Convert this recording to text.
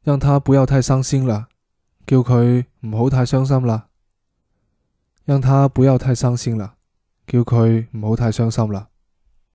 让他不要太傷心啦，叫佢唔好太傷心啦。讓他不要太傷心啦，叫佢唔好太傷心啦。